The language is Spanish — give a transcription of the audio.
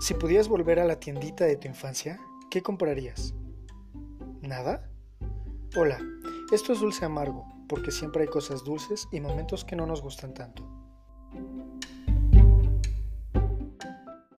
Si pudieras volver a la tiendita de tu infancia, ¿qué comprarías? ¿Nada? Hola, esto es Dulce Amargo, porque siempre hay cosas dulces y momentos que no nos gustan tanto.